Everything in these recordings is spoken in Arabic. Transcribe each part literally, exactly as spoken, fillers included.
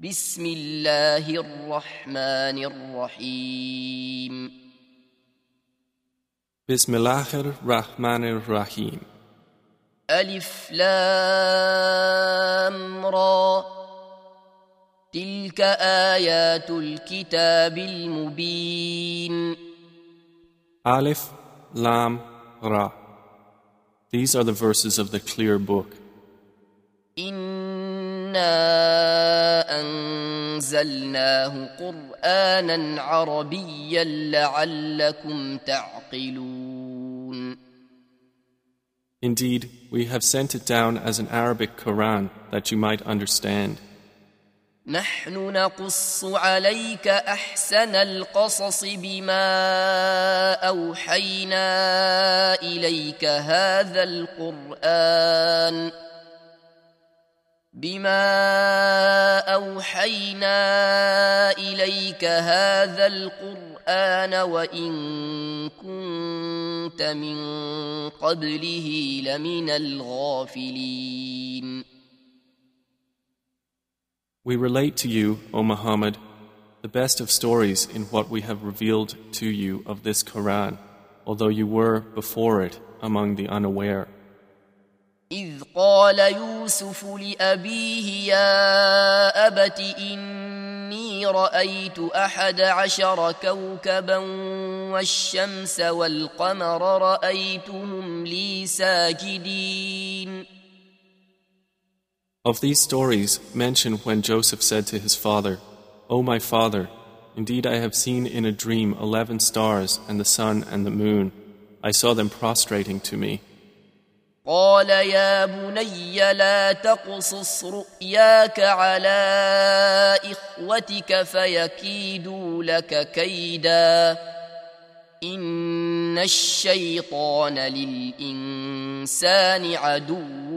بسم الله الرحمن الرحيم بسم الله الرحمن الرحيم ألف لام را تلك آيات الكتاب المبين Alif, Lam, Ra. These are the verses of the clear book. إنا أنزلناه قرآنا عربيا لعلكم تعقلون Indeed, we have sent it down as an Arabic Quran that you might understand. نحن نقص عليك أحسن القصص بما أوحينا إليك هذا القرآن بما أوحينا إليك هذا القرآن وإن كنت من قبله لمن الغافلين. We relate to you, O Muhammad, the best of stories in what we have revealed to you of this Quran, although you were before it among the unaware. إذ قال يوسف لأبيه يا أبت إني رأيت أحد عشر كوكبا والشمس والقمر رأيتهم لي ساجدين. Of these stories, mention when Joseph said to his father, O my father, indeed I have seen in a dream eleven stars and the sun and the moon. I saw them prostrating to me. قال يا بني لا تقصص رؤياك على إخوتك فيكيدوا لك كيدا إن الشيطان للإنسان عدو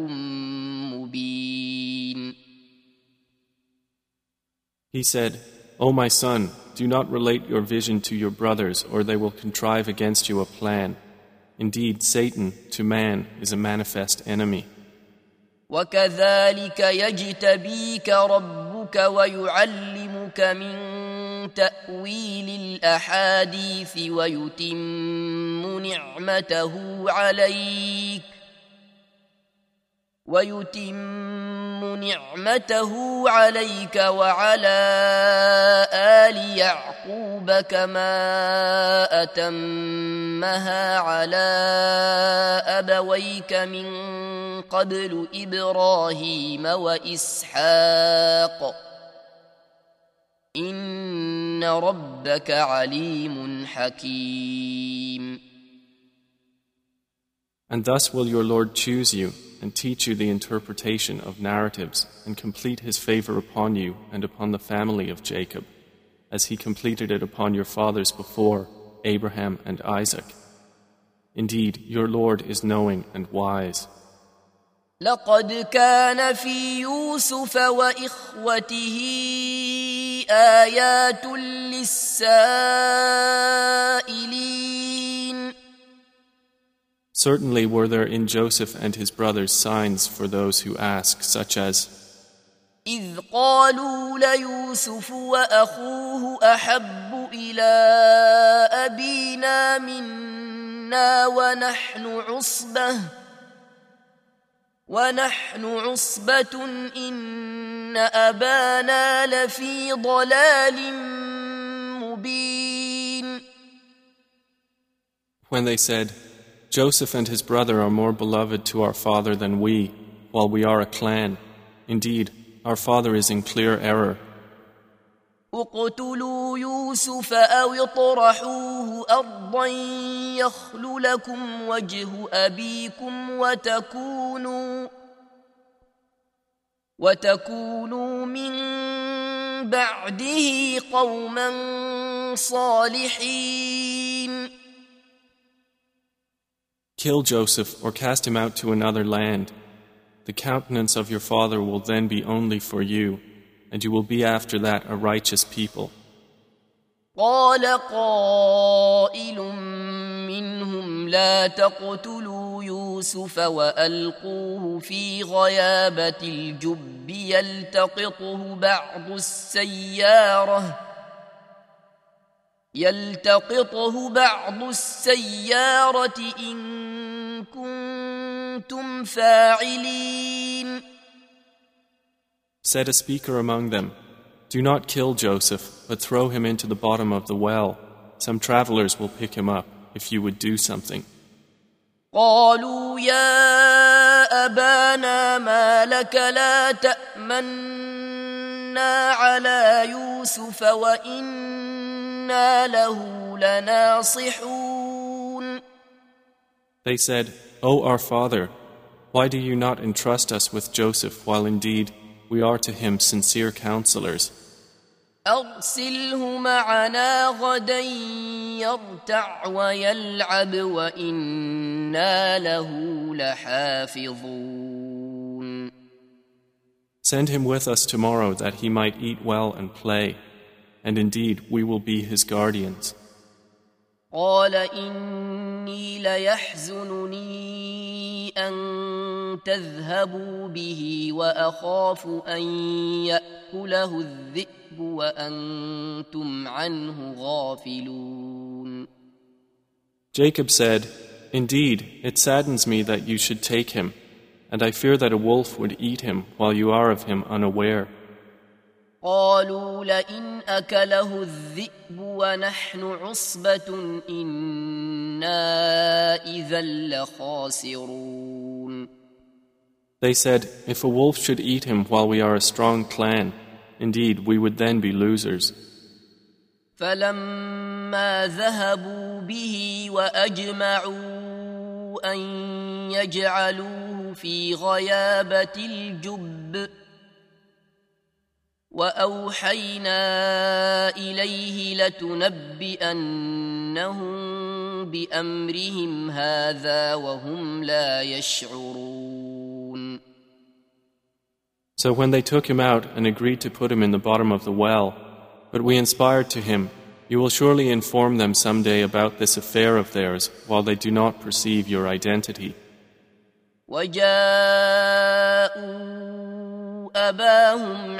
مبين. He said, O my son, do not relate your vision to your brothers, or they will contrive against you a plan. Indeed, Satan, to man, is a manifest enemy. وكذلك يجتبيك ربك ويعلمك من تأويل الأحاديث ويتم نعمته عليك ويتم نعمته عليك وعلى آل يعقوب كما أتمها على أبويك من قبل إبراهيم وإسحاق إن ربك عليم حكيم. And thus will your Lord choose you and teach you the interpretation of narratives and complete his favor upon you and upon the family of Jacob, as he completed it upon your fathers before, Abraham and Isaac. Indeed, your Lord is knowing and wise. لقد كان في يوسف وإخوته آيات للسائلين. Certainly were there in Joseph and his brothers signs for those who ask, such as إذ قالوا ليوسف وأخوه أحب إلى أبينا منا ونحن عصبة ونحن عصبة إن أبانا لفي ضلال مبين. When they said, Joseph and his brother are more beloved to our father than we, while we are a clan. Indeed, our father is in clear error. اقتلوا يوسف أو اطرحوه أرضا يخل لكم وجه أبيكم وتكونوا وتكونوا من بعده قوما صالحين. Kill Joseph or cast him out to another land. The countenance of your father will then be only for you, and you will be after that a righteous people. قال قائل منهم لا تقتلوا يوسف وألقوه في غيابة الجب يلتقطه بعض السيارة يلتقطه بعض السيارة إن كنتم فاعلين. Said a speaker among them, "Do not kill Joseph, but throw him into the bottom of the well. Some travelers will pick him up if you would do something." قالوا يا أبانا ما لك لا تأمنا على يوسف وإنا له لناصحون. They said, "O our father, why do you not entrust us with Joseph while indeed we are to him sincere counselors? أرسله معنا غدا يرتع ويلعب وإنا له لحافظون." Send him with us tomorrow that he might eat well and play, and indeed we will be his guardians. قال إني ليحزنني أن تذهبوا به وأخاف أن يأكله الذئب وأنتم عنه غافلون. Jacob said, "Indeed, it saddens me that you should take him, and I fear that a wolf would eat him while you are of him unaware." قالوا لئن أكله الذئب ونحن عصبة إنا إذا لخاسرون. They said, "If a wolf should eat him while we are a strong clan, indeed we would then be losers." فلما ذهبوا به وأجمعوا أن يجعلوه في غيابة الجب وأوحينا إليه لتنبئنهم بأمرهم هذا وهم لا يشعرون. So when they took him out and agreed to put him in the bottom of the well, but we inspired to him, "You will surely inform them someday about this affair of theirs while they do not perceive your identity." وجاءوا أباهم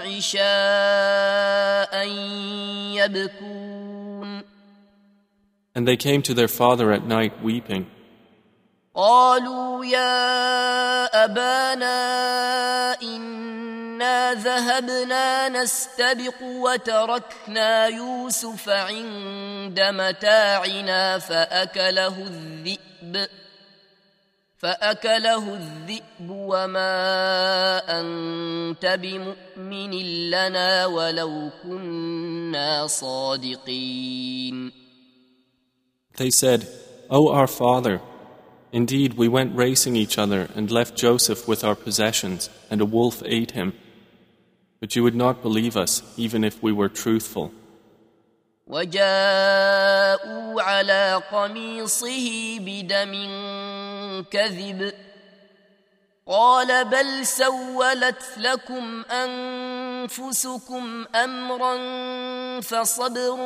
عشاء يبكون. And they came to their father at night weeping. قالوا يا أبانا إنا ذهبنا نستبق وتركنا يوسف عند متاعنا فأكله الذئب فأكله الذئب وما أنت بمؤمن لنا ولو كنا صادقين. They said, "O our father, indeed we went racing each other and left Joseph with our possessions, and a wolf ate him. But you would not believe us, even if we were truthful." وجاءوا على قميصه بدم كذب قال بل سولت لكم أنفسكم أمرا فصبر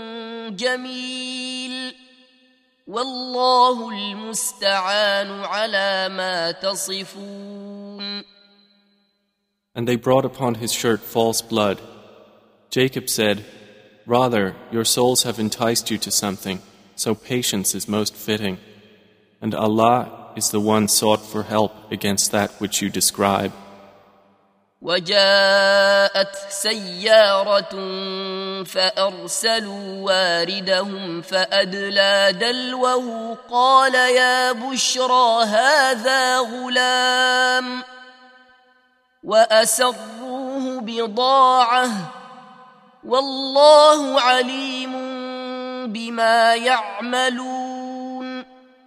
جميل والله المستعان على ما تصفون. And they brought upon his shirt false blood. Jacob said, "Rather, your souls have enticed you to something, so patience is most fitting. And Allah is the one sought for help against that which you describe." وجاءت سيارة فأرسلوا واردهم فأدلى دلوه قال يا بشرى هذا غلام وأسروه بضاعة والله عليم بما يعملون.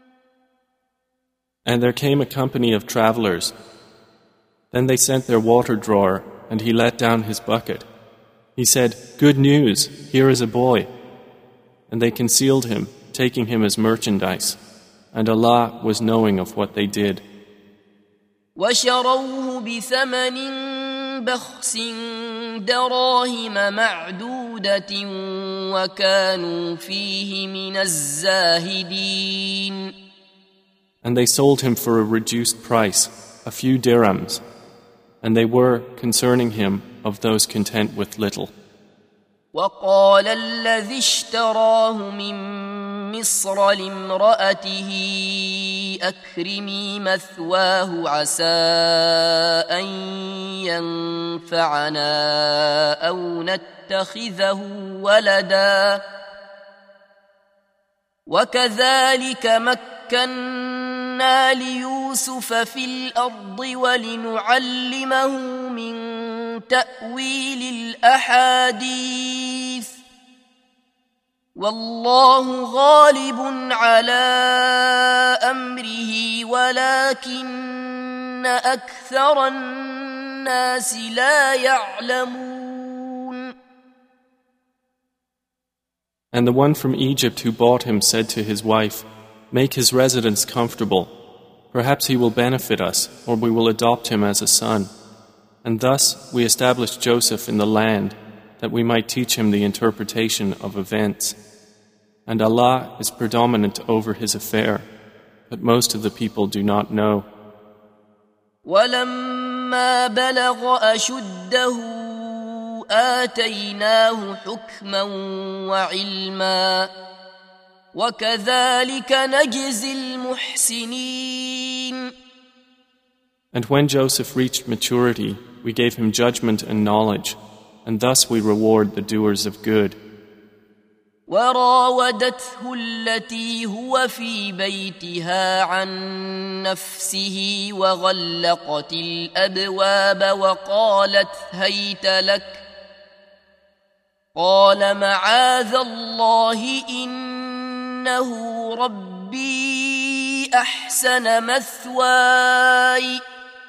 And there came a company of travelers. Then they sent their water drawer, and he let down his bucket. He said, "Good news, here is a boy." And they concealed him, taking him as merchandise. And Allah was knowing of what they did. وشروه بثمن بخس دراهم معدودة وكانوا فيه من الزاهدين. And they sold him for a reduced price, a few dirhams, and they were, concerning him, of those content with little. وقال الذي اشتراه من مصر لامرأته أكرمي مثواه عسى أن ينفعنا أو نتخذه ولدا وكذلك مكنا ليوسف في الأرض ولنعلمه من تأويل الأحاديث والله غالب على أمره ولكن أكثر الناس لا يعلمون. And the one from Egypt who bought him said to his wife, "Make his residence comfortable. Perhaps he will benefit us, or we will adopt him as a son." And thus we established Joseph in the land, that we might teach him the interpretation of events. And Allah is predominant over his affair, but most of the people do not know. وَلَمَّا بَلَغَ أَشُدَّهُ آتَيْنَاهُ حُكْمًا وَعِلْمًا وَكَذَلِكَ نَجْزِي الْمُحْسِنِينَ. And when Joseph reached maturity, we gave him judgment and knowledge, and thus we reward the doers of good. وراودته التي هو في بيتها عن نفسه وغلقت الأبواب وقالت هيت لك قال معاذ الله إنه ربي أحسن مثواي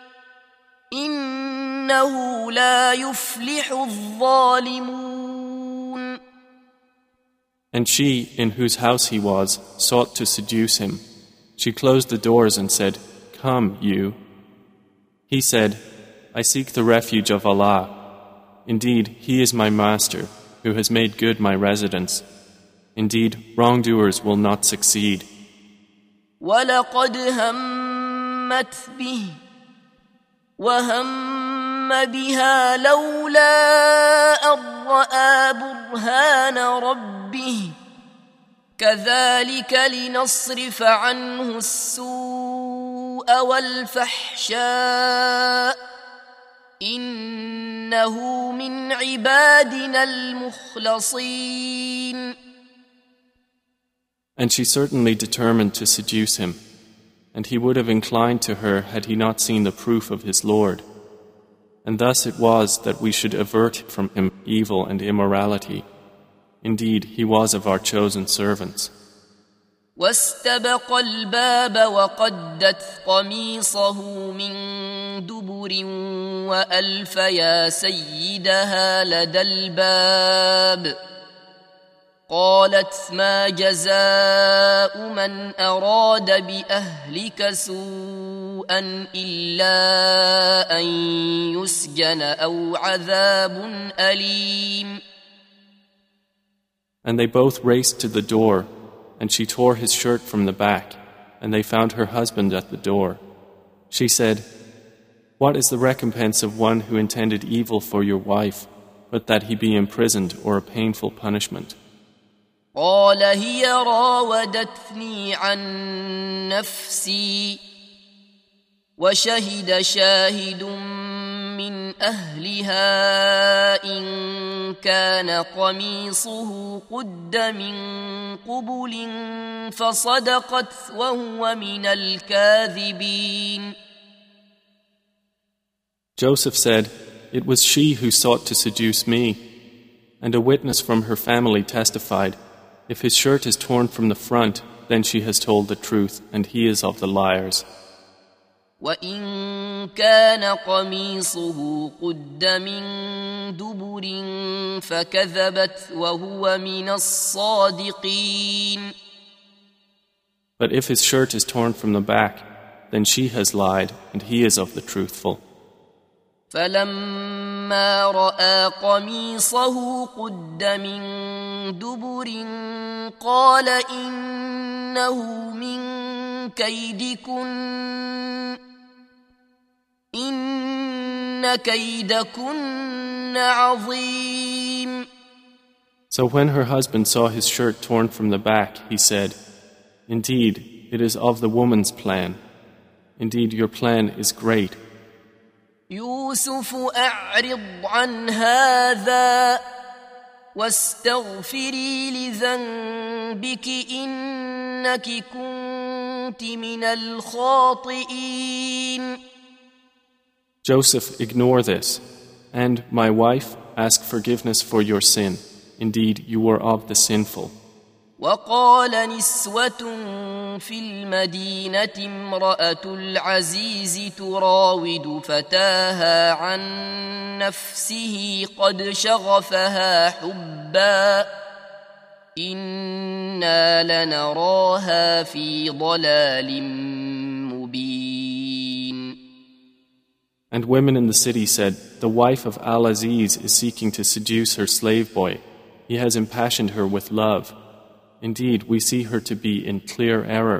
إنه لا يفلح الظالمون. And she, in whose house he was, sought to seduce him. She closed the doors and said, "Come, you." He said, "I seek the refuge of Allah. Indeed, He is my master, who has made good my residence. Indeed, wrongdoers will not succeed." وَلَقَدْ هَمَّتْ بِهِ وَهَمَّ بِهَا لَوْلَا أَن رَّأَىٰ بُرْهَانَ رَبِّهِ كَذَلِكَ لِنَصْرِفَ عَنْهُ السُّوءَ وَالْفَحْشَاءَ إِنَّهُ مِنْ عِبَادِنَا الْمُخْلَصِينَ. And she certainly determined to seduce him, and he would have inclined to her had he not seen the proof of his Lord. And thus it was that we should avert from him evil and immorality. Indeed, he was of our chosen servants. واستبق الباب وقدت قميصه من دبر وألف يا سيدها لدى الباب قالت ما جزاء من أراد بأهلك سوءا إلا أن يسجن أو عذاب أليم. And they both raced to the door, and she tore his shirt from the back, and they found her husband at the door. She said, "What is the recompense of one who intended evil for your wife, but that he be imprisoned or a painful punishment?" قال هي راودتني عن نفسي وشهد شاهد من أهلها إن كان قميصه قد من قبل فصدقت وهو من الكاذبين. Joseph said, "It was she who sought to seduce me." And a witness from her family testified, "If his shirt is torn from the front, then she has told the truth, and he is of the liars." وَإِن كَانَ قَمِيصُهُ قُدَّ مِن دُبُرٍ فَكَذَبَتْ وَهُوَ مِنَ الصَّادِقِينَ. But if his shirt is torn from the back, then she has lied, and he is of the truthful. فلما رأى قميصه قد من دبر قال إنه من كيدكن إن كيدكن عظيم. So when her husband saw his shirt torn from the back, he said, "Indeed, it is of the woman's plan. Indeed, your plan is great." يوسف أعرض عن هذا واستغفري لذنبك إنك كنت من الخاطئين. Joseph, ignore this, and my wife, ask forgiveness for your sin. Indeed, you were of the sinful. وقال نسوة في المدينة امرأة العزيز تراود فتاها عن نفسه قد شغفها حبا إنا لنراها في ضلال مبين. And women in the city said, "The wife of Al-Aziz is seeking to seduce her slave boy. He has impassioned her with love. Indeed, we see her to be in clear error."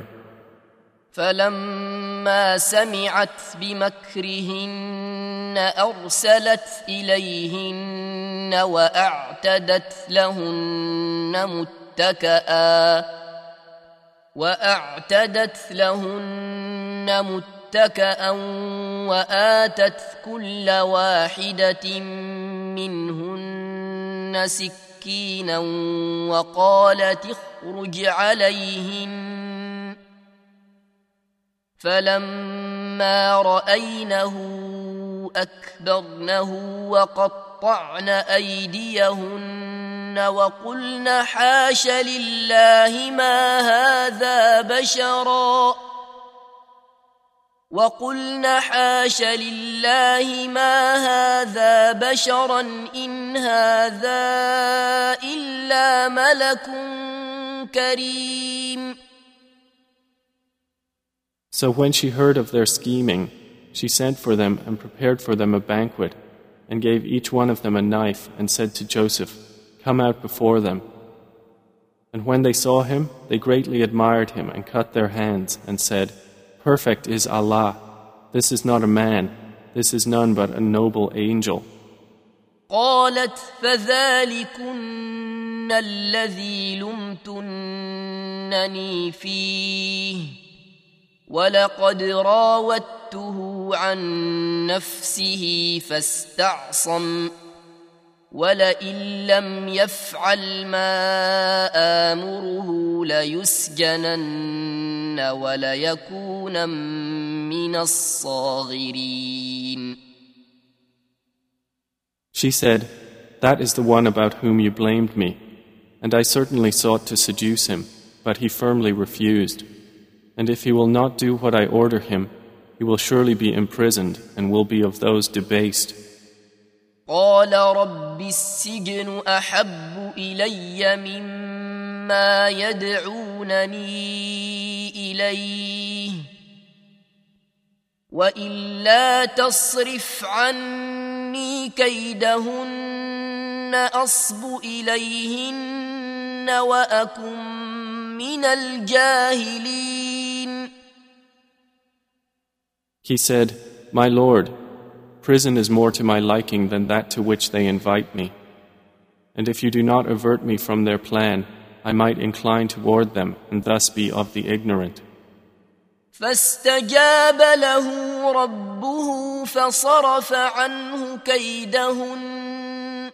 فلما سمعت بمكرهن أرسلت إليهن وأعتدت لهن متكئا وأعتدت لهن متكئا وآتت كل واحدة منهن سكينا وقالت اخرج عليهن فلما رأينه أكبرنه وقطعن أيديهن وقلن حاش لله ما هذا بشرا وقلن حاش لله ما هذا بشرا إن هذا إلا ملك كريم. So when she heard of their scheming, she sent for them and prepared for them a banquet, and gave each one of them a knife, and said to Joseph, "Come out before them." And when they saw him, they greatly admired him and cut their hands, and said, "Perfect is Allah. This is not a man. This is none but a noble angel." قالت فذلكن الذي لمتنني فيه ولقد راودته عن نفسه فاستعصم ولئن لم يفعل ما آمره ليسجنن وليكون من الصاغرين. She said, "That is the one about whom you blamed me, and I certainly sought to seduce him, but he firmly refused. And if he will not do what I order him, he will surely be imprisoned and will be of those debased." قال رب السجن أحب إلي مما يدعونني إليه وإلا تصرف عني كيدهن أصب إليهن وأكن من الجاهلين. He said, "My Lord, prison is more to my liking than that to which they invite me. And if you do not avert me from their plan, I might incline toward them and thus be of the ignorant." فاستجاب له ربه فصرف عنه كيدهن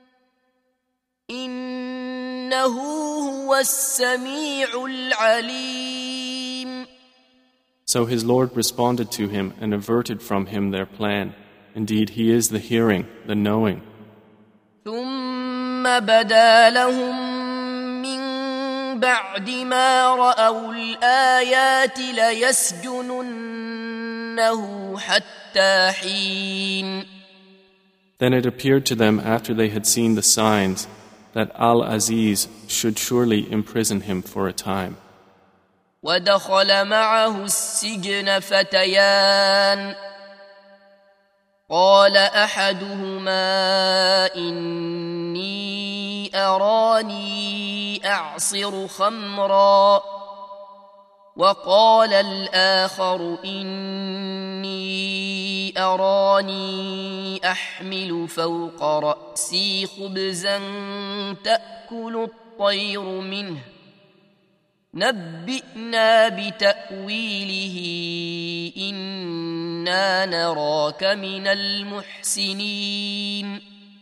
إنه هو السميع العليم. So his Lord responded to him and averted from him their plan. Indeed, he is the hearing, the knowing. ثم بدا لهم من بعد ما رأوا الآيات ليسجننه حتى حين. Then it appeared to them after they had seen the signs that Al-Aziz should surely imprison him for a time. ودخل معه السجن فتيان قال أحدهما إني أراني أعصر خمرا وقال الآخر إني أراني أحمل فوق رأسي خبزا تأكل الطير منه نبئنا بتأويله إنا نراك من المحسنين.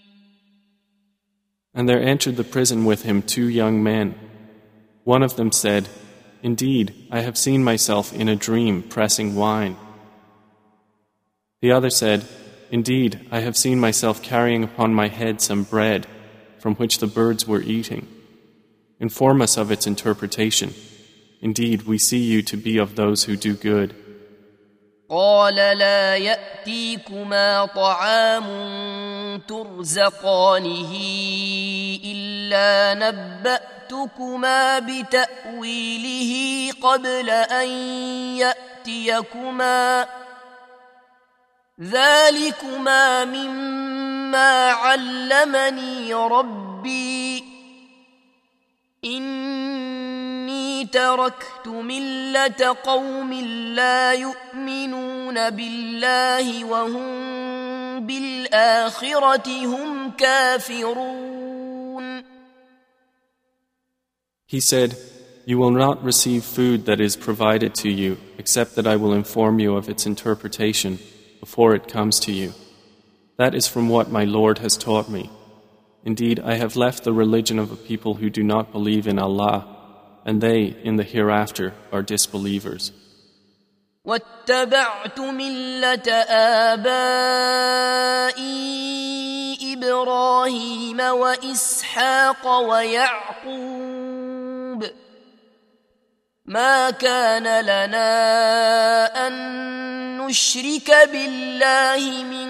And there entered the prison with him two young men. One of them said, "Indeed, I have seen myself in a dream pressing wine." The other said, "Indeed, I have seen myself carrying upon my head some bread from which the birds were eating. Inform us of its interpretation. Indeed, we see you to be of those who do good." قال لا يأتيكما طعام ترزقانه إلا نبأتكما بتأويله قبل أن يأتيكما ذلكما مما علمني ربي إني تركت ملة قوم لا يؤمنون بالله وهم بالآخرة هم كافرون. He said, "You will not receive food that is provided to you except that I will inform you of its interpretation before it comes to you. That is from what my Lord has taught me. Indeed, I have left the religion of a people who do not believe in Allah, and they, in the hereafter, are disbelievers." واتبعت ملة آبائي إبراهيم وإسحاق ويعقوب ما كان لنا أن نشرك بالله من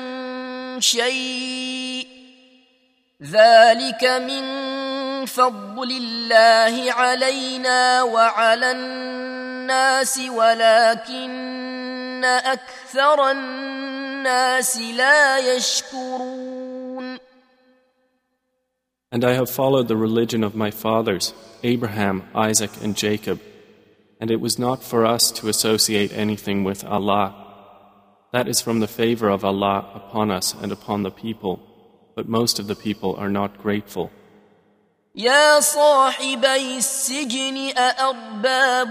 شيء ذلك من فضل الله علينا وعلى الناس ولكن أكثر الناس لا يشكرون. And I have followed the religion of my fathers, Abraham, Isaac, and Jacob, and it was not for us to associate anything with Allah. That is from the favor of Allah upon us and upon the people, but most of the people are not grateful. يا صاحبي السجن أأرباب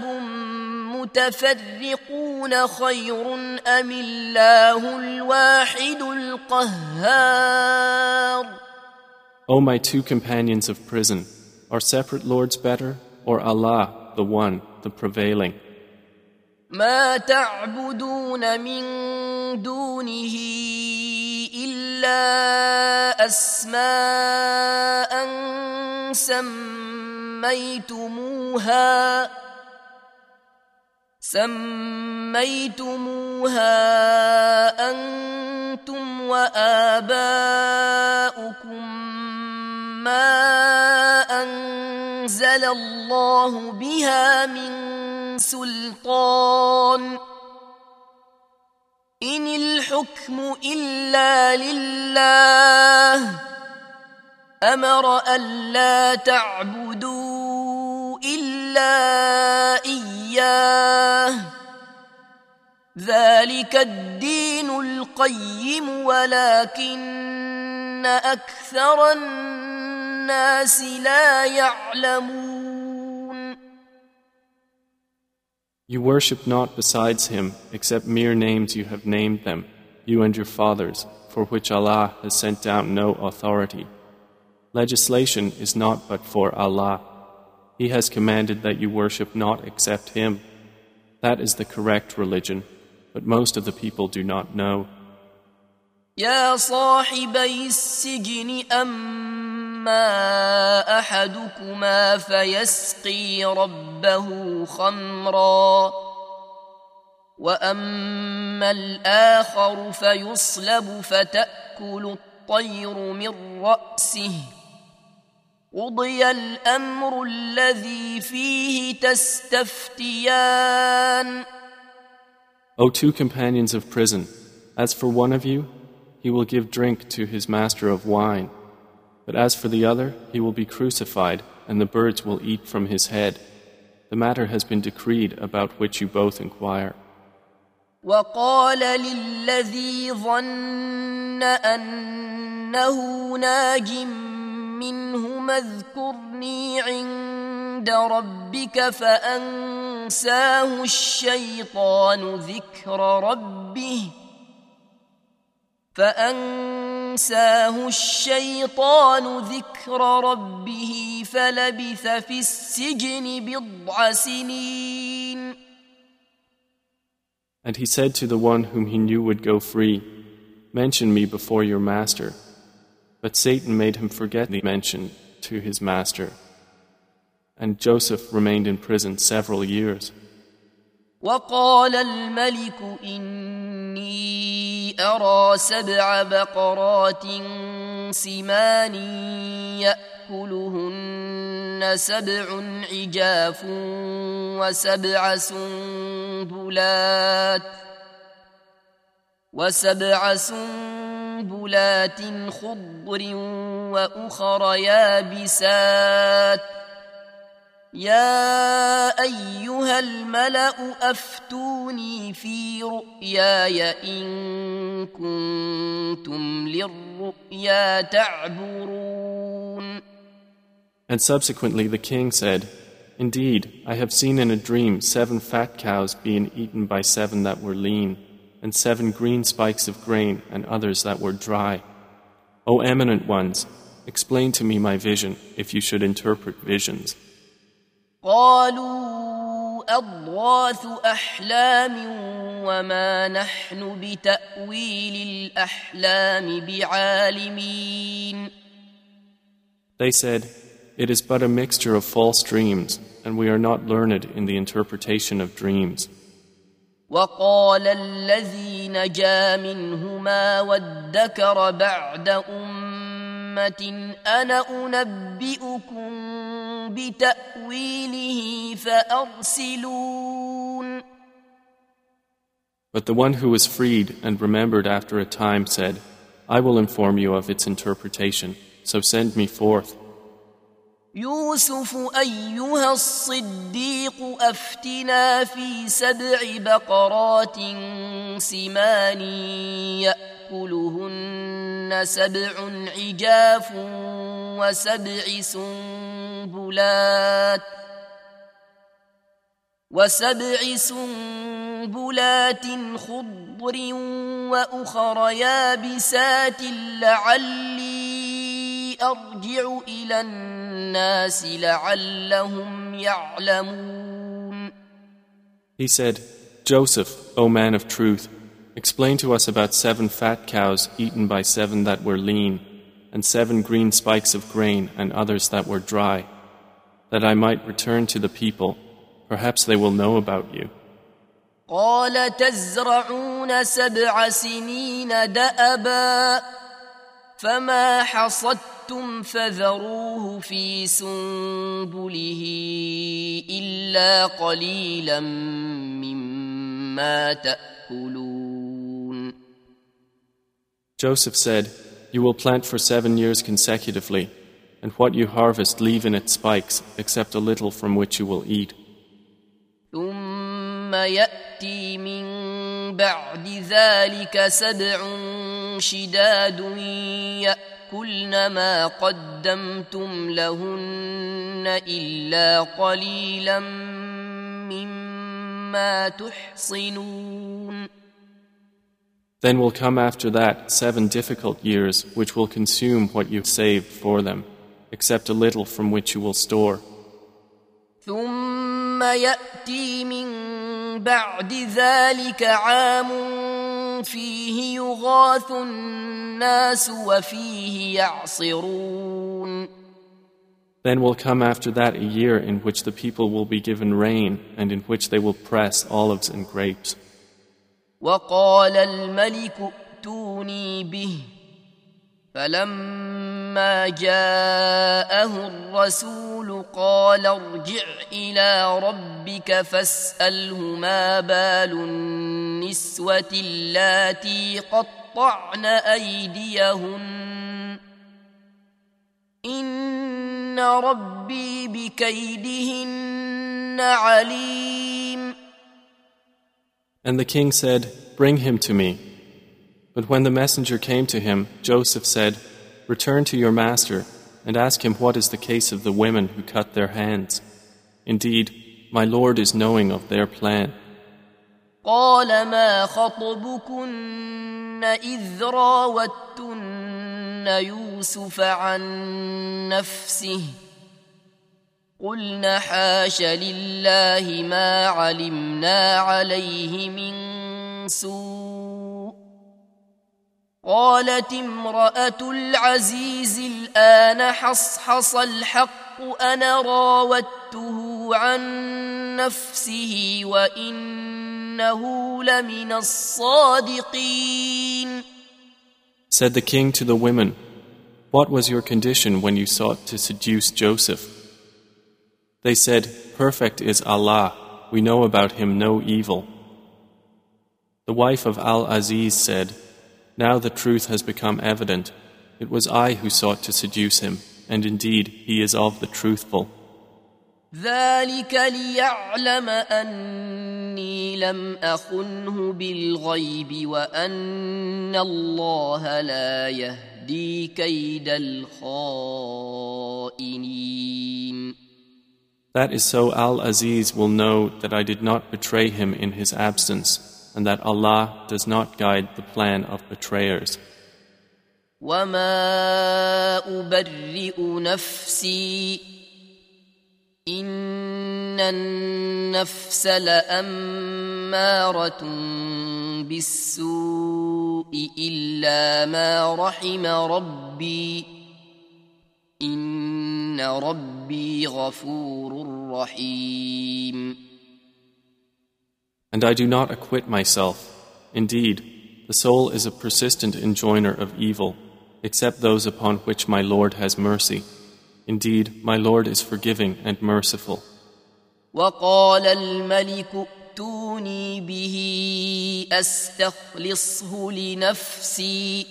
متفرقون خير أم الله الواحد القهار. O my two companions of prison, are separate lords better, or Allah, the one, the prevailing? ما تعبدون من دونه إلا أسماء سميتموها سميتموها أنتم وآباؤكم ما أنزل الله بها من سلطان إن الحكم إلا لله أمر ألا تعبدوا إلا إياه ذلك الدين القيم ولكن أكثر الناس لا يعلمون. You worship not besides him except mere names you have named them, you and your fathers, for which Allah has sent down no authority. Legislation is not but for Allah. He has commanded that you worship not except Him. That is the correct religion, but most of the people do not know. يا صاحبي السجن أما أحدكما فيسقي ربه خمرا وأما الآخر فيصلب فتأكل الطير من رأسه قضي الأمر الذي فيه تستفتيان. O two companions of prison, as for one of you, he will give drink to his master of wine. But as for the other, he will be crucified, and the birds will eat from his head. The matter has been decreed about which you both inquire. وقال للذي ظن أنه ناج منهما اذكرني عند ربك فأنساه الشيطان ذكر ربه فأنساه الشيطان ذكر ربه فلبث في السجن بضع سنين. And he said to the one whom he knew would go free, "Mention me before your master." But Satan made him forget the mention to his master. And Joseph remained in prison several years. وقال الملك إني أرى سبع بقرات سمان يأكلهن سبع عجاف وسبع سنبلات وسبع سنبلات خضر وأخر يابسات يا أيها الملأ أفتوني في رؤياي إن كنتم للرؤيا تعبرون. And subsequently the king said, "Indeed, I have seen in a dream seven fat cows being eaten by seven that were lean, and seven green spikes of grain and others that were dry. O eminent ones, explain to me my vision if you should interpret visions." قالوا أضغاث أحلام وما نحن بتأويل الأحلام بعالمين. They said, "It is but a mixture of false dreams, and we are not learned in the interpretation of dreams." وقال الذي نجا منهما وادكر بعد أمة أنا أنبئكم بتأويله فأرسلون. But the one who was freed and remembered after a time said, "I will inform you of its interpretation, so send me forth." يوسف أيها الصديق أفتنا في سبع بقرات سمان يأكلهن سبع عجاف وسبع سنبلات وسبع سنبلات خضر وأخر يابسات لعلي أرجع إلى الناس لعلهم يعلمون. He said, "Joseph, O man of truth, explain to us about seven fat cows eaten by seven that were lean, and seven green spikes of grain and others that were dry, that I might return to the people. Perhaps they will know about you." قال تزرعون سبع سنين دأبا فما حصدتم فذروه في سنبله إلا قليلا مما تأكلون. Joseph said, "You will plant for seven years consecutively, and what you harvest leave in its spikes, except a little from which you will eat. ثم يأتي من بعد ذلك سبع شداد يأكلن ما قدمتم لهن إلا قليلا مما تحصنون. Then will come after that seven difficult years which will consume what you saved for them, except a little from which you will store. ثم يأتي من بعد ذلك عام فيه يغاث الناس وفيه يعصرون. Then will come after that a year in which the people will be given rain and in which they will press olives and grapes. وقال الملك ائتوني به فلما فلما جاءه الرسول قال ارجع إلى ربك فاسأله ما بال النسوة اللاتي قطعن أيديهن إن ربي بكيدهن عليم. And the king said, "Bring him to me." But when the messenger came to him, Joseph said, "Return to your master and ask him what is the case of the women who cut their hands. Indeed, my Lord is knowing of their plan." قال ما خطبكن إذ راوتن يوسف عن نفسه قلنا حاش لله ما علمنا عليه من سوء قالت امرأة العزيز الآن حصحص الحق أنا راودته عن نفسه وإنه لمن الصادقين. Said the king to the women, "What was your condition when you sought to seduce Joseph?" They said, "Perfect is Allah, we know about him no evil." The wife of Al-Aziz said, "Now the truth has become evident. It was I who sought to seduce him, and indeed he is of the truthful." ذلك ليعلم أني لم أخنه بالغيب وأن الله لا يهدي كيد الخائنين. That is so Al-Aziz will know that I did not betray him in his absence, and that Allah does not guide the plan of betrayers. وَمَا أُبَرِّئُ نَفْسِي إِنَّ النَّفْسَ لَأَمَّارَةٌ بِالسُّوءِ إِلَّا مَا رَحِمَ رَبِّي إِنَّ رَبِّي غَفُورٌ رَحِيمٌ. And I do not acquit myself. Indeed, the soul is a persistent enjoiner of evil, except those upon which my Lord has mercy. Indeed, my Lord is forgiving and merciful. وَقَالَ الْمَلِكُ ائْتُونِي بِهِ أَسْتَخْلِصْهُ لِنَفْسِي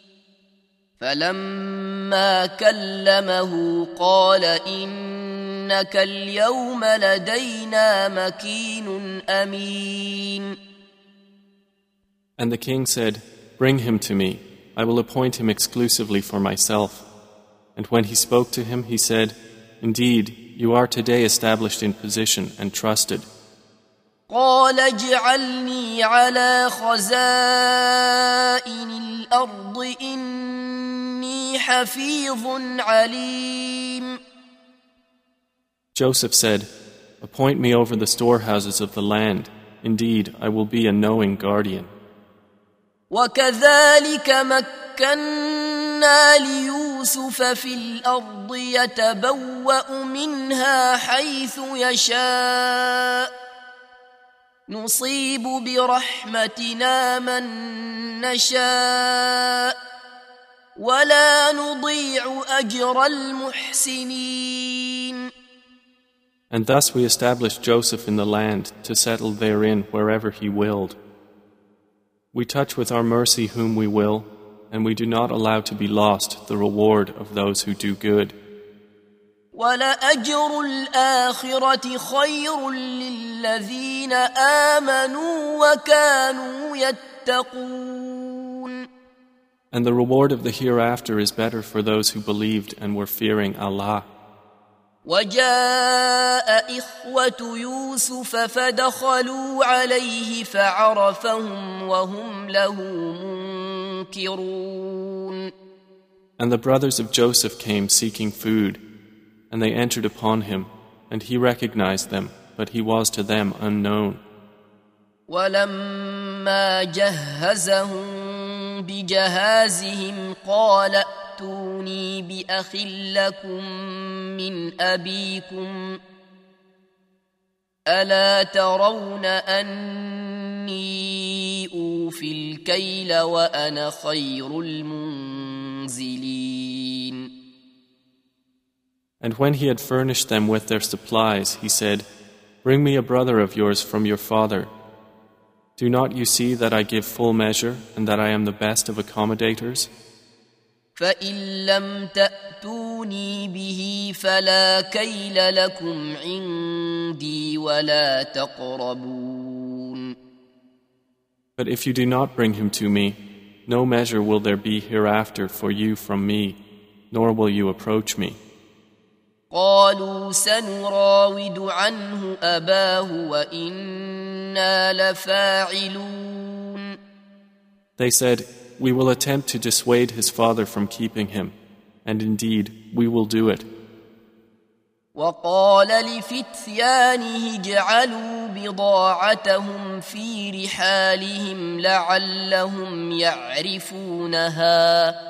فَلَمَّا كَلَّمَهُ قَالَ إِنَّكَ الْيَوْمَ لَدَيْنَا مَكِينٌ أَمِينٌ. And the king said, "Bring him to me. I will appoint him exclusively for myself." And when he spoke to him, he said, "Indeed, you are today established in position and trusted." قال اجعلني على خزائن الأرض إني حفيظ عليم. Joseph said, "Appoint me over the storehouses of the land. Indeed, I will be a knowing guardian." وكذلك مكنا ليوسف في الأرض يتبوأ منها حيث يشاء نصيب برحمتنا من نشاء ولا نضيع أجر المحسنين. And thus we established Joseph in the land to settle therein wherever he willed. We touch with our mercy whom we will, and we do not allow to be lost the reward of those who do good. وَلَأَجْرُ الْآخِرَةِ خَيْرٌ لِلَّذِينَ آمَنُوا وَكَانُوا يَتَّقُونَ. And the reward of the hereafter is better for those who believed and were fearing Allah. وَجَاءَ إِخْوَةُ يُوسُفَ فَدَخَلُوا عَلَيْهِ فَعَرَفَهُمْ وَهُمْ لَهُ مُنكِرُونَ. And the brothers of Joseph came seeking food, and they entered upon him, and he recognized them, but he was to them unknown. وَلَمَّا جَهَّزَهُم بِجَهَازِهِمْ قَالَ ائتوني بأخ لكم من أبيكم ألا ترون أني أوفي الكيل وأنا خير المنزلين. And when he had furnished them with their supplies, he said, "Bring me a brother of yours from your father. Do not you see that I give full measure and that I am the best of accommodators? فإن لم تأتوني به فلا كيل لكم عندي ولا تقربون." But if you do not bring him to me, no measure will there be hereafter for you from me, nor will you approach me. قالوا سنراود عنه أباه وإنا لفاعلون. They said, "We will attempt to dissuade his father from keeping him, and indeed we will do it." وقال لفتيانه اجعلوا بضاعتهم في رحالهم لعلهم يعرفونها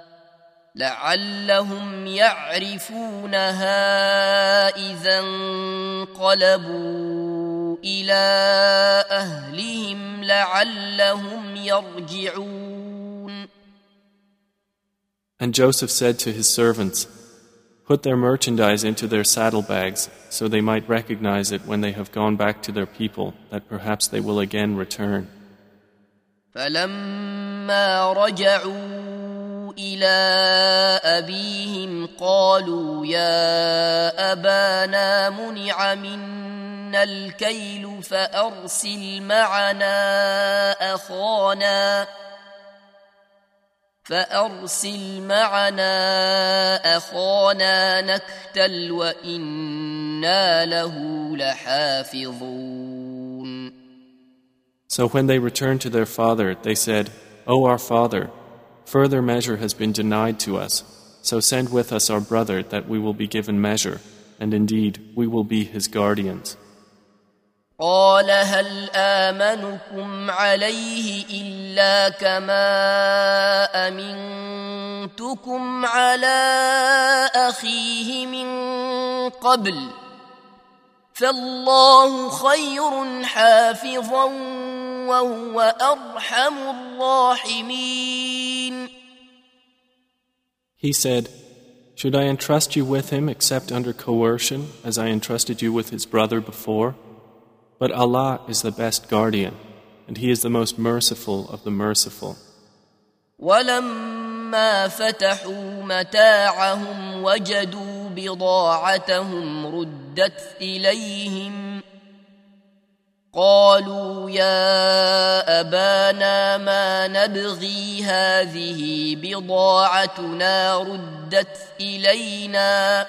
لعلهم يعرفونها إذا انقلبوا إلى أهلهم لعلهم يرجعون. And Joseph said to his servants, "Put their merchandise into their saddlebags, so they might recognize it when they have gone back to their people, that perhaps they will again return." فلما رجعوا إلى أبيهم قالوا يا أبانا منع منا الكيل فأرسل معنا أخانا فأرسل معنا أخانا نكتل وإنا له لحافظون. So when they returned to their father, they said, "O our father, further measure has been denied to us, so send with us our brother that we will be given measure, and indeed we will be his guardians." قال هل آمنكم عليه إلا كما أمنتكم على أخيه من قبل فالله خير حافظا وهو أرحم الراحمين. He said, "Should I entrust you with him except under coercion, as I entrusted you with his brother before? But Allah is the best guardian, and He is the most merciful of the merciful." ولما فتحوا متاعهم وجدوا بضاعتهم ردت إليهم قالوا يا أبانا ما نبغي هذه بضاعتنا ردت إلينا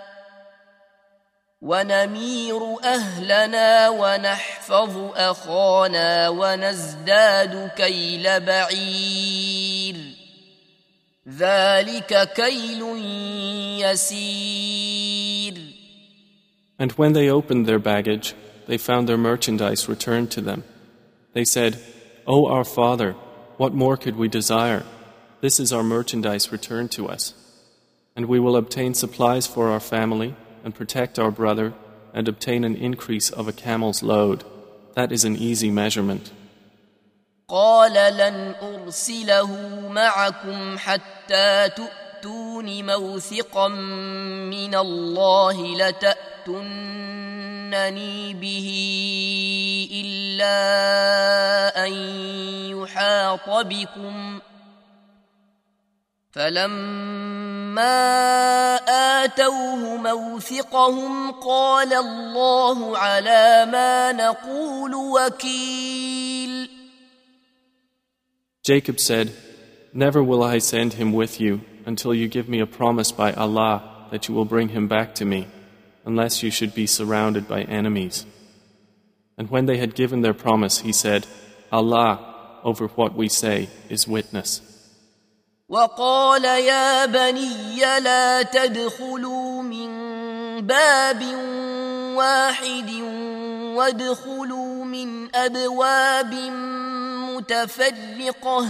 ونمير أهلنا ونحفظ أخانا ونزداد كيل بعير ذلك كيل يسير. And when they opened their baggage, they found their merchandise returned to them. They said, "O our father, what more could we desire? This is our merchandise returned to us. And we will obtain supplies for our family, and protect our brother, and obtain an increase of a camel's load. That is an easy measurement." قال لن أرسله معكم حتى تؤتون موثقا من الله لتأتونني به إلا أن يحاط بكم فلما آتوه موثقهم قال الله على ما نقول وكيل. Jacob said, "Never will I send him with you until you give me a promise by Allah that you will bring him back to me, unless you should be surrounded by enemies." And when they had given their promise, he said, "Allah, over what we say, is witness." وقال يا بني لا تدخلوا من باب واحد وادخلوا من أبواب متفرقة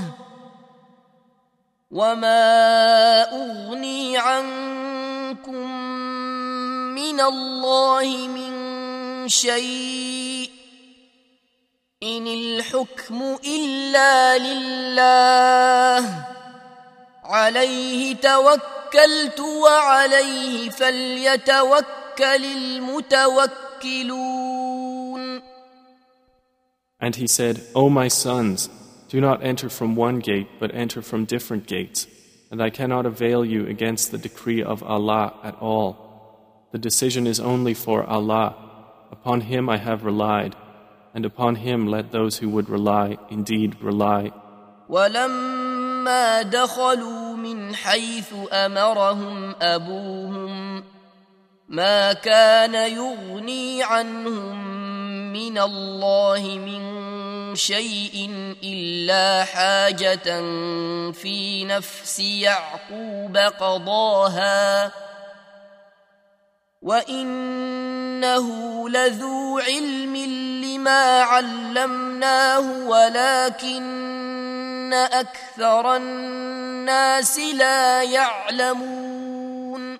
وما أغني عنكم من الله من شيء إن الحكم إلا لله عليه توكلت توكلت وعليه فليتوكل المتوكلون. And he said, O my sons, do not enter from one gate, but enter from different gates, and I cannot avail you against the decree of Allah at all. The decision is only for Allah. Upon Him I have relied, and upon Him let those who would rely indeed rely. وَلَمَّا دَخَلُوا مِنْ حَيْثُ أَمَرَهُمْ أَبُوهُمْ مَا كَانَ يُغْنِي عَنْهُمْ مِنَ اللَّهِ مِنْ شَيْءٍ إِلَّا حَاجَةً فِي نَفْسِ يَعْقُوبَ قَضَاهَا وَإِنَّهُ لَذُو عِلْمٍ لِمَا عَلَّمْنَاهُ وَلَكِنَّ أَكْثَرَ النَّاسِ لَا يَعْلَمُونَ.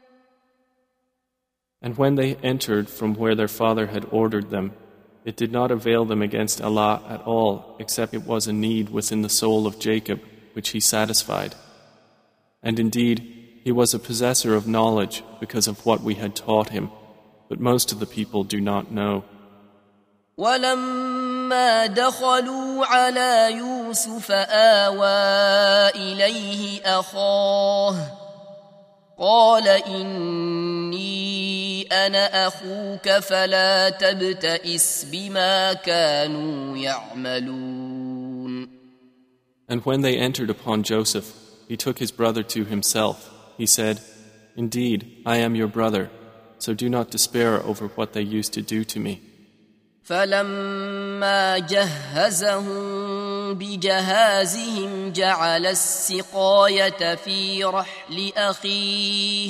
And when they entered from where their father had ordered them, it did not avail them against Allah at all, except it was a need within the soul of Jacob, which he satisfied. And indeed, he was a possessor of knowledge because of what we had taught him, but most of the people do not know. وَلَمَّا دَخَلُوا عَلَى يُوسُفَ آوَى إِلَيْهِ أَخَاهُ قَالَ إِنِّي أَنَا أَخُوكَ فَلَا تَبْتَئِسْ بِمَا كَانُوا يَعْمَلُونَ. And when they entered upon Joseph, he took his brother to himself. He said, Indeed, I am your brother, so do not despair over what they used to do to me. فَلَمَّا جَهَّزَهُم بِجَهَازِهِمْ جَعَلَ السِّقَايَةَ فِي رَحْلِ أَخِيهِ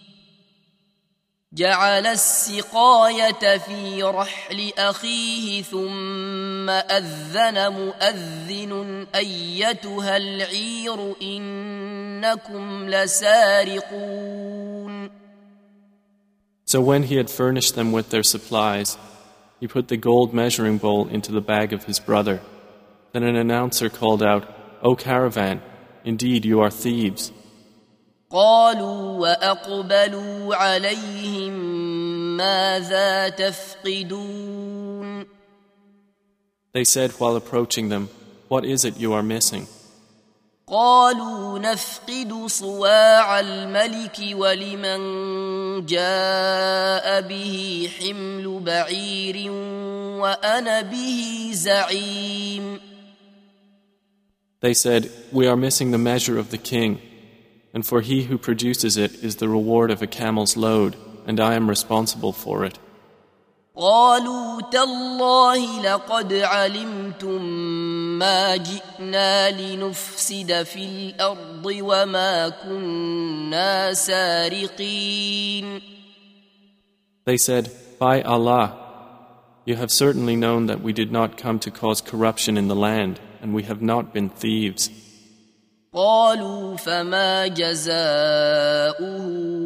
جعل السقاية في رحل أخيه ثم أذن مؤذن أيتها العير إنكم لسارقون. So when he had furnished them with their supplies, he put the gold measuring bowl into the bag of his brother. Then an announcer called out, O caravan, indeed you are thieves. قالوا وأقبلوا عليهم ماذا تفقدون. They said while approaching them, What is it you are missing? قالوا نفقد صواع الملك ولمن جاء به حمل بعير وأنا به زعيم. They said, We are missing the measure of the king, and for he who produces it is the reward of a camel's load, and I am responsible for it. قالوا تالله لقد علمتم ما جئنا لنفسد في الأرض وما كنا سارقين. They said, By Allah, you have certainly known that we did not come to cause corruption in the land, and we have not been thieves. قالوا فما جزاؤه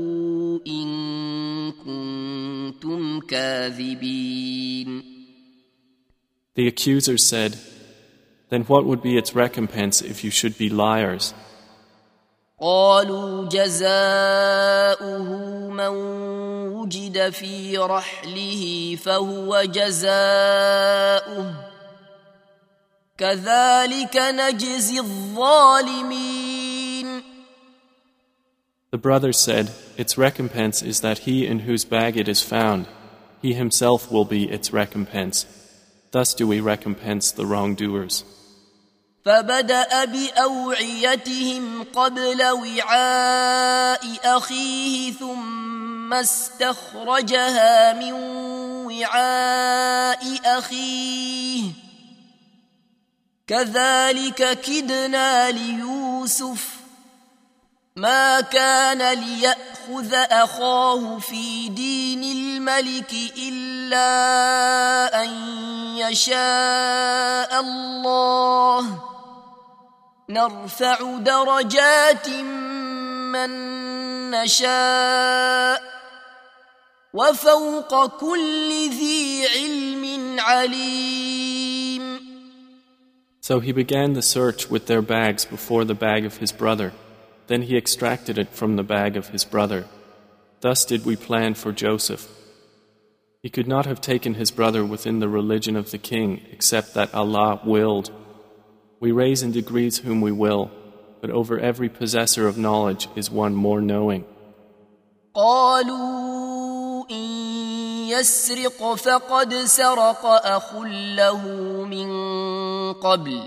إن كنتم كاذبين. The accusers said, Then what would be its recompense if you should be liars? قالوا جزاؤه من وجد في رحله فهو جزاؤه كذلك نجزي الظالمين. The brothers said, Its recompense is that he in whose bag it is found, he himself will be its recompense. Thus do we recompense the wrongdoers. فبدأ بأوعيتهم قبل وعاء أخيه ثم استخرجها من وعاء أخيه كذلك كدنا ليوسف ما كان ليأخذ أخاه في دين الملك إلا أن يشاء الله نرفع درجات من نشاء وفوق كل ذي علم عليم. So he began the search with their bags before the bag of his brother. Then he extracted it from the bag of his brother. Thus did we plan for Joseph. He could not have taken his brother within the religion of the king except that Allah willed. We raise in degrees whom we will, but over every possessor of knowledge is one more knowing. قالوا إن يسرق فقد سرق أخ له من قبل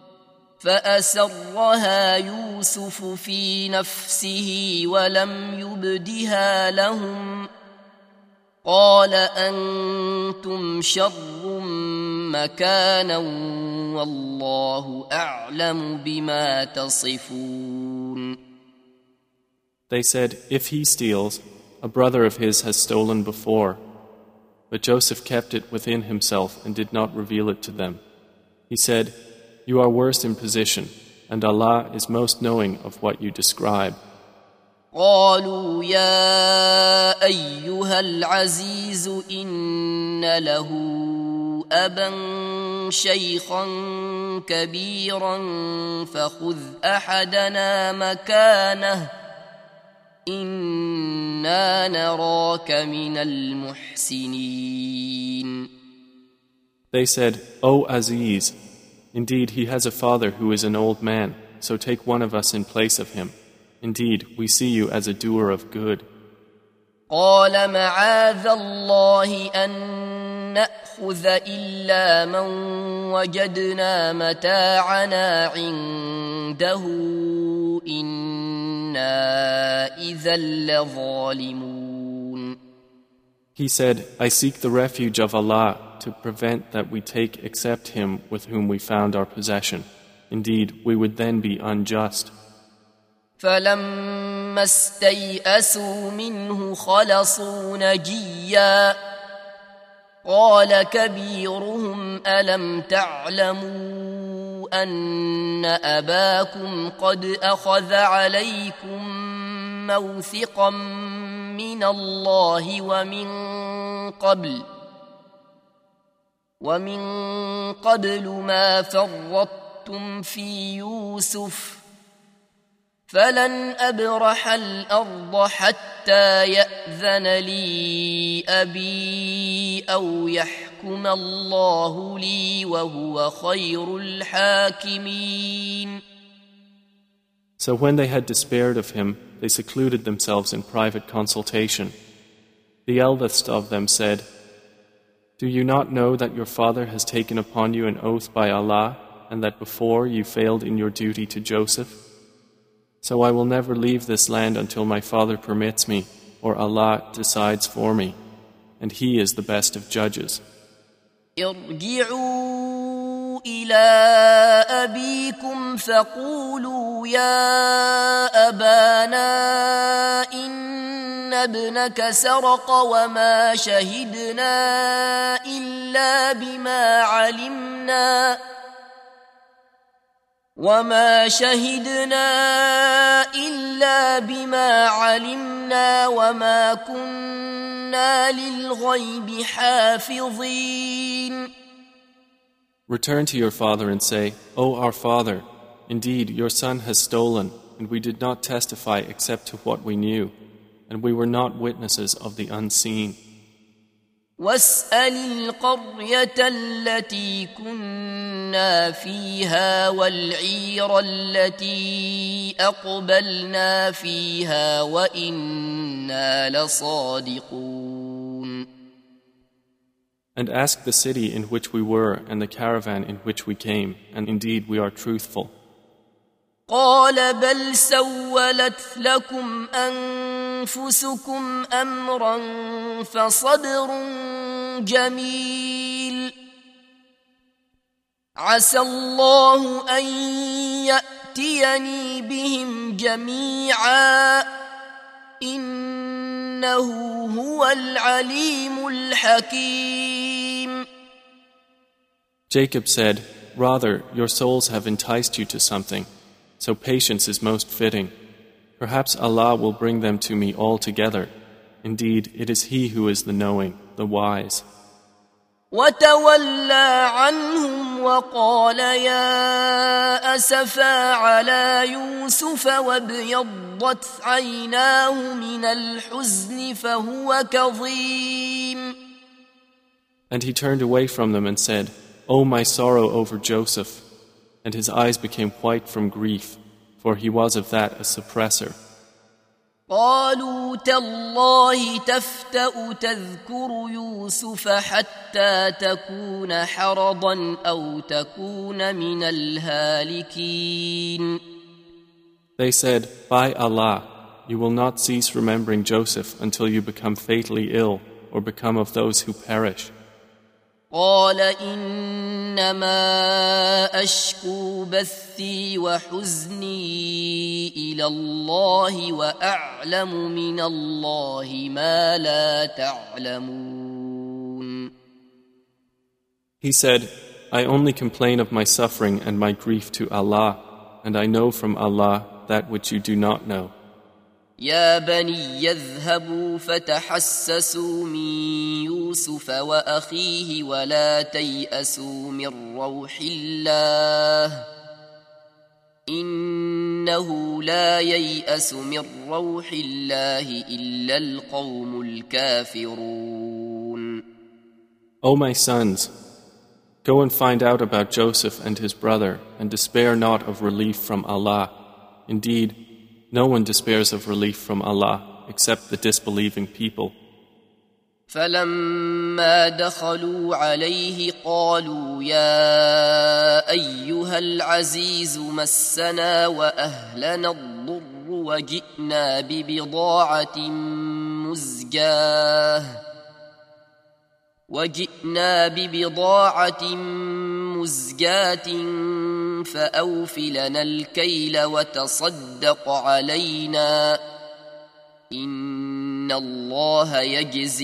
فأسرها يوسف في نفسه ولم يبدها لهم قال أنتم شر مكانا والله أعلم بما تصفون. They said, if he steals, a brother of his has stolen before. But Joseph kept it within himself and did not reveal it to them. He said, you are worse in position, and Allah is most knowing of what you describe. قالوا يا أيها العزيز إن له أبا شيخا كبيرا فخذ أحدنا مكانه إنا نراك من المحسنين. They said, O Aziz, indeed he has a father who is an old man, so take one of us in place of him. Indeed, we see you as a doer of good. قال معاذ الله أن نأخذ إلا من وجدنا متاعنا عنده إنا إذا لظالمون. He said, I seek the refuge of Allah to prevent that we take except him with whom we found our possession. Indeed, we would then be unjust. فلما استيئسوا منه خلصوا نجيا قال كبيرهم ألم تعلموا أن أباكم قد أخذ عليكم موثقا من الله ومن قبل ومن قبل ما فرطتم في يوسف فلن أبرح الأرض حتى يأذن لي أبي أو يحكم الله لي وهو خير الحاكمين. So when they had despaired of him, they secluded themselves in private consultation. The eldest of them said, do you not know that your father has taken upon you an oath by Allah and that before you failed in your duty to Joseph? So I will never leave this land until my father permits me, or Allah decides for me, and He is the best of judges. ارجعوا إلى أبيكم فقولوا يا أبانا إن ابنك سرق وما شهدنا إلا بما علمنا وما شهدنا إلا بما علمنا وما كنا للغيب حافظين. Return to your father and say, O our father, indeed your son has stolen, and we did not testify except to what we knew, and we were not witnesses of the unseen. واسأل القرية التي كنا فيها والعير التي أقبلنا فيها وإنا لصادقون. And ask the city in which we were and the caravan in which we came, and indeed we are truthful. قال بل سولت لكم أنفسكم أمرا فصبر جميل عسى الله أن يأتيني بهم جميعا إنه هو العليم الحكيم. Jacob said, rather, your souls have enticed you to something, so patience is most fitting. Perhaps Allah will bring them to me all together. Indeed, it is He who is the knowing, the wise. وتولى عنهم وقال يا أسفا على يوسف وابيضت عيناه من الحزن فهو كظيم. And he turned away from them and said, "O my sorrow over Joseph," and his eyes became white from grief, for he was of that a suppressor. قالوا تالله تفتأ تذكر يوسف حتى تكون حرضا أو تكون من الهالكين. They said, "By Allah, you will not cease remembering Joseph until you become fatally ill or become of those who perish." قال إنما أشكو بثي وحزني إلى الله وأعلم من الله ما لا تعلمون. He said, "I only complain of my suffering and my grief to Allah, and I know from Allah that which you do not know." يا بني يذهبوا فتحسسوا من يوسف وأخيه ولا تيأسوا من روح الله إنه لا ييأس من روح الله إلا القوم الكافرون. O my sons, go and find out about Joseph and his brother, and despair not of relief from Allah. Indeed, no one despairs of relief from Allah except the disbelieving people. فلما دخلوا عليه قالوا يا أيها العزيز مسنا وأهلنا الضر وجئنا ببضاعة مزجاة وجئنا ببضاعة مزجاة فأوف لنا الكيل وتصدق علينا إن الله يجزي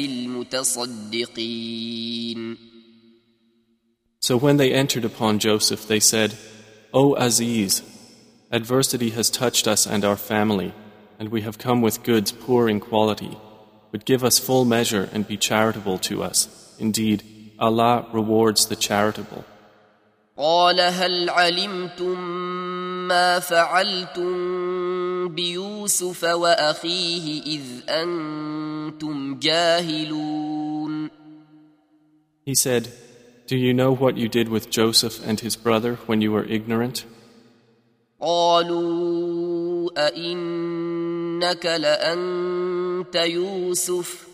المتصدقين. So when they entered upon Joseph, they said, "O Aziz, adversity has touched us and our family, and we have come with goods poor in quality, but give us full measure and be charitable to us. Indeed, Allah rewards the charitable." قال هل علمتم ما فعلتم بيوسف وأخيه إذ أنتم جاهلون. He said, "Do you know what you did with Joseph and his brother when you were ignorant?" قالوا أئنك لأنت يوسف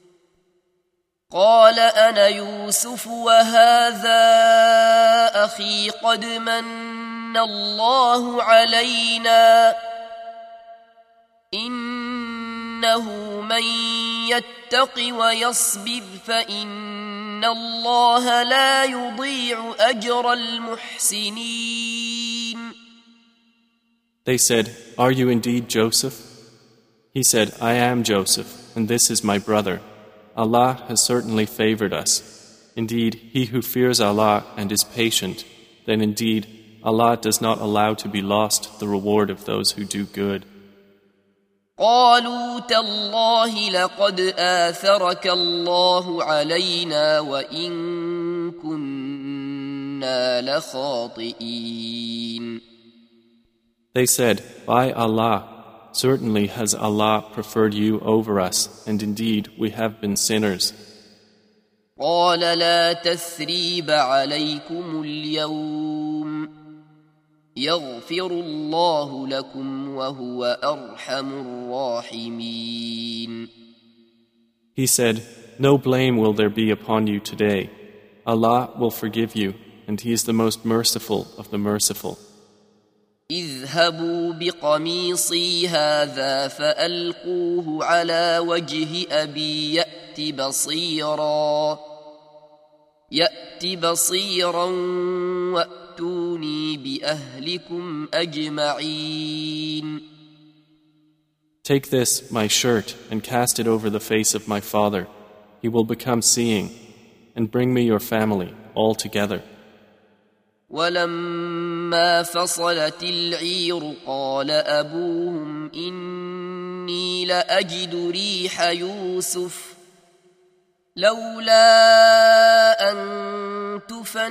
قال أنا يوسف وهذا أخي قد من الله علينا إنه من يتق ويصبر فإن الله لا يضيع أجر المحسنين. They said, "Are you indeed Joseph?" He said, "I am Joseph, and this is my brother. Allah has certainly favored us. Indeed, he who fears Allah and is patient, then indeed Allah does not allow to be lost the reward of those who do good." قالوا تالله لقد آثرك الله علينا وإن كنا لخاطئين. They said, "By Allah, certainly has Allah preferred you over us, and indeed we have been sinners." قال لا تثريب عليكم اليوم يغفر الله لكم وهو أرحم الراحمين. He said, "No blame will there be upon you today. Allah will forgive you, and He is the most merciful of the merciful. اذهبوا بقميصي هذا فألقوه على وجه أبي يأت بصيرا يأت بصيرا وأتوني بأهلكم أجمعين. Take this, my shirt, and cast it over the face of my father. He will become seeing, and bring me your family all together. ولما فصلت العير قال أبوهم إني لأجد ريح يوسف لولا أن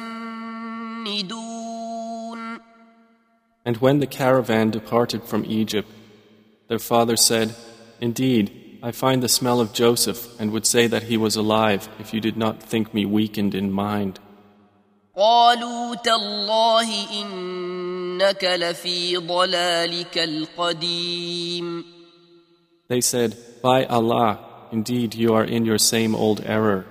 تفندون. And when the caravan departed from Egypt, their father said, Indeed, I find the smell of Joseph and would say that he was alive if you did not think me weakened in mind. قالوا تالله إنك لفي ضلالك القديم. They said, By Allah, indeed you are in your same old error.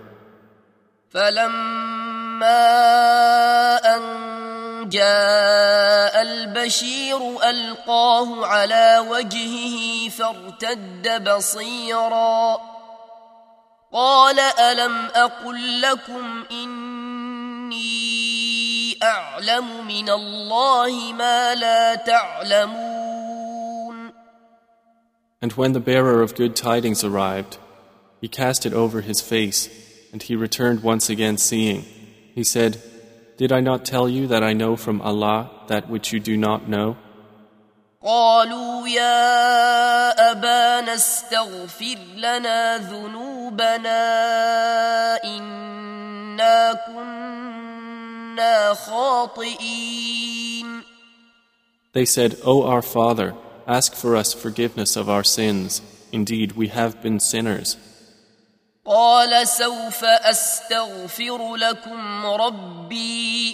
فلما أن جاء البشير ألقاه على وجهه فارتد بصيرا قال ألم أقل لكم إني أعلم من الله ما لا تعلمون. And when the bearer of good tidings arrived, he cast it over his face, and he returned once again seeing. He said, Did I not tell you that I know from Allah that which you do not know? قالوا يا أبانا استغفر لنا ذنوبنا إنا كنا خاطئين. They said, O our Father, ask for us forgiveness of our sins. Indeed, we have been sinners. قال سوف أستغفر لكم ربي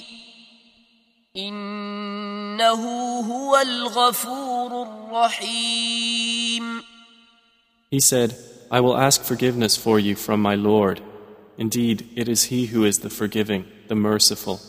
إنه هو الغفور الرحيم. He said, I will ask forgiveness for you from my Lord. Indeed, it is He who is the forgiving, the merciful.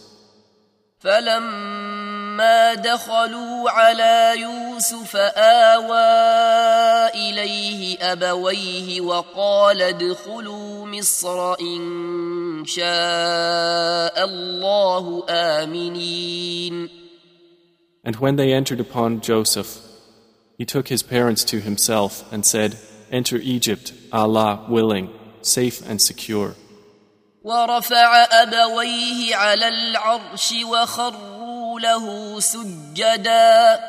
فلما دخلوا على يوسف آوى إليه أبويه وقال ادخلوا مصر إن شاء الله آمنين. And when they entered upon Joseph, he took his parents to himself and said, Enter Egypt, Allah willing, safe and secure. ورفع أبويه على العرش وخروا له سجدا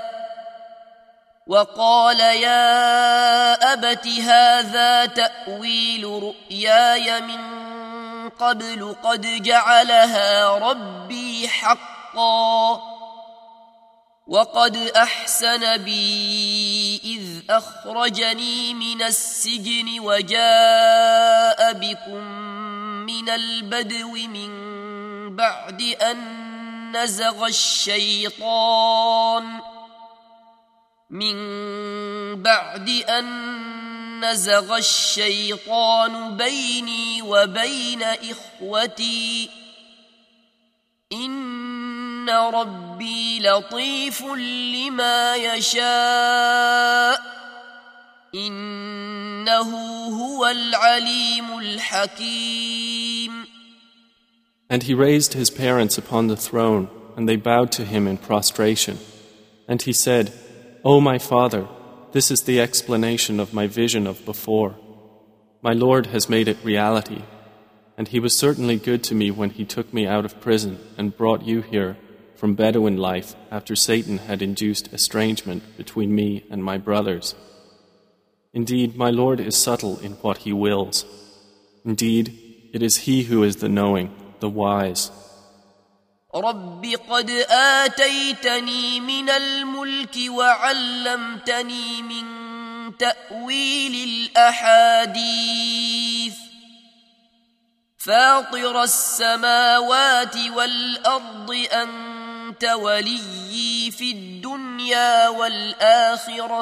وقال يا أبت هذا تأويل رؤياي من قبل قد جعلها ربي حقا وقد أحسن بي إذ أخرجني من السجن وجاء بكم من البدو من بعد أن نزغ الشيطان من بعد أن نزغ الشيطان بيني وبين إخوتي إن ربي لطيف لما يشاء إنه هو العليم الحكيم. And he raised his parents upon the throne, and they bowed to him in prostration. And he said, O my father, this is the explanation of my vision of before. My Lord has made it reality, and he was certainly good to me when he took me out of prison and brought you here from Bedouin life after Satan had induced estrangement between me and my brothers. Indeed, my Lord is subtle in what he wills. Indeed, it is he who is the knowing, the wise. رب قد آتيتني من الملك وعلمتني من تأويل الأحاديث فاطر السماوات والأرض أنت وليي في الدنيا والآخرة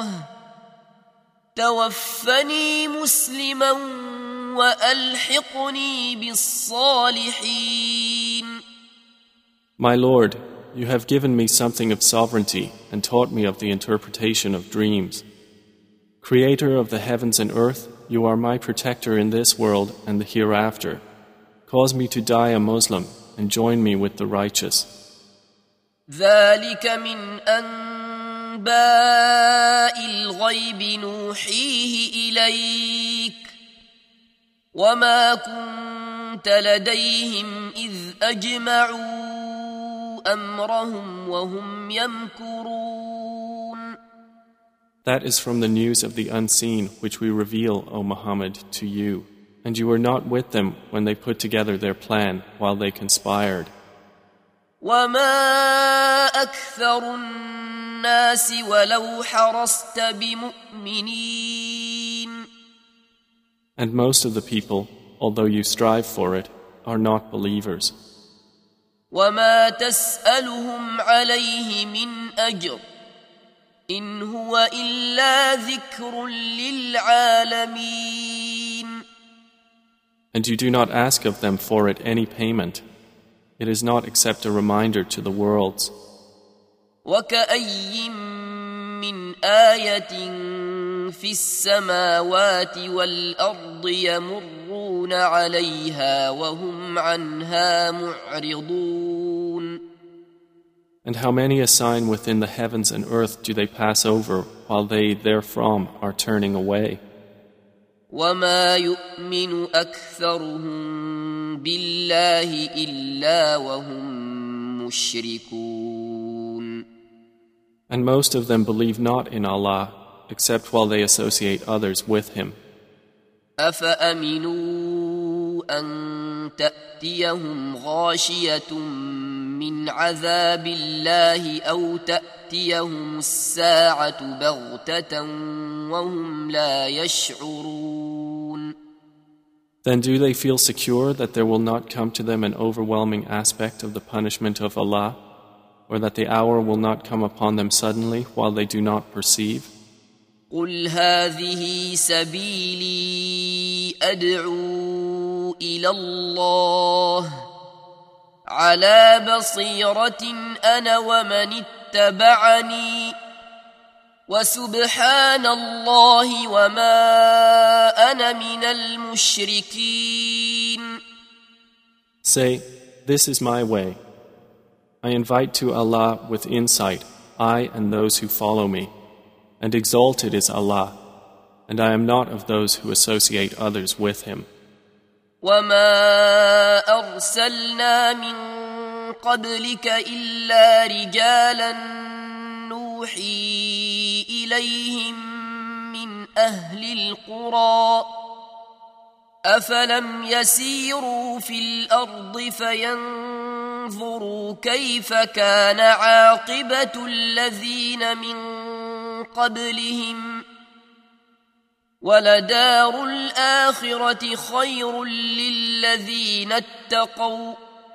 توفني مسلما وألحقني بالصالحين. My Lord, you have given me something of sovereignty and taught me of the interpretation of dreams. Creator of the heavens and earth, you are my protector in this world and the hereafter. Cause me to die a Muslim and join me with the righteous. ذلك من أنباء الغيب نوحيه إليك وما كنت لديهم إذ أجمعوا أمرهم وهم يمكرون. That is from the news of the unseen which we reveal, O Muhammad, to you. and you were not with them when they put together their plan while they conspired. وما أكثر الناس ولو حرصت بمؤمنين. And most of the people, although you strive for it, are not believers. وما تسألهم عليه من أجر إن هو إلا ذكر للعالمين. And you do not ask of them for it any payment. It is not except a reminder to the worlds. وكأي من آية في السماوات والأرض يمرون عليها وهم عنها معرضون. And how many a sign within the heavens and earth do they pass over while they therefrom are turning away? وما يؤمن أكثرهم بالله إلا وهم مشركون. And most of them believe not in Allah except while they associate others with Him. أفأمنوا أن تأتيهم غاشية من عذاب الله أو تأتيهم الساعة بغتة وهم لا يشعرون. Then do they feel secure that there will not come to them an overwhelming aspect of the punishment of Allah, or that the hour will not come upon them suddenly while they do not perceive? قل هذه سبيلي أدعو إلى الله على بصيرة أنا ومن اتبعني وسبحان الله وما أنا من المشركين. Say, this is my way. I invite to Allah with insight, I and those who follow me, and exalted is Allah, and I am not of those who associate others with Him. وما أرسلنا من قبلك إلا رجالا نوحي إليهم من أهل القرى أفلم يسيروا في الأرض فينظروا كيف كان عاقبة الذين من قبلهم ولدار الآخرة خير للذين اتقوا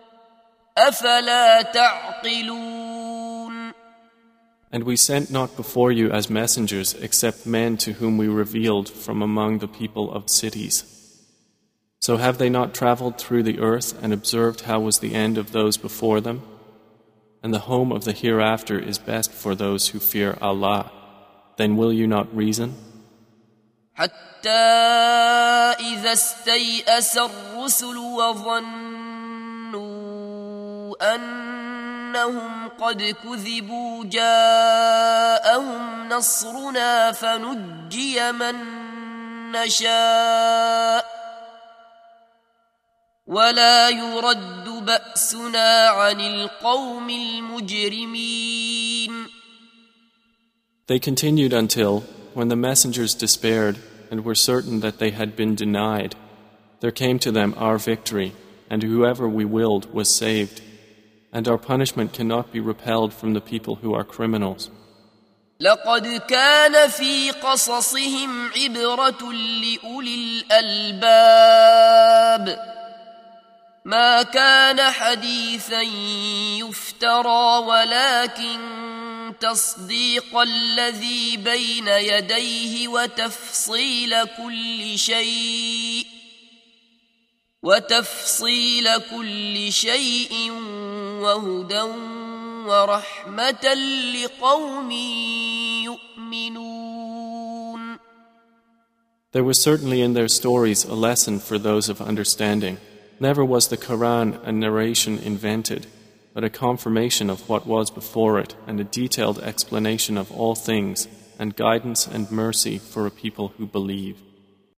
أفلا تعقلون. And we sent not before you as messengers except men to whom we revealed from among the people of cities. So have they not traveled through the earth and observed how was the end of those before them? And the home of the hereafter is best for those who fear Allah. Then will you not reason? حتى إذا استيأس الرسل وظنوا أنهم قد كذبوا جاءهم نصرنا فنجي من نشاء ولا يرد بأسنا عن القوم المجرمين. They continued until, when the messengers despaired and were certain that they had been denied, there came to them our victory, and whoever we willed was saved, and our punishment cannot be repelled from the people who are criminals. لقد كان في قصصهم عبرة لأولي الألباب ما كان حديثا يفترى ولكن تصديق الذي بين يديه وتفصيل كل شيء وتفصيل كل شيء وهدى ورحمة لقوم يؤمنون. There was certainly in their stories a lesson for those of understanding. Never was the Quran a narration invented, but a confirmation of what was before it and a detailed explanation of all things and guidance and mercy for a people who believe.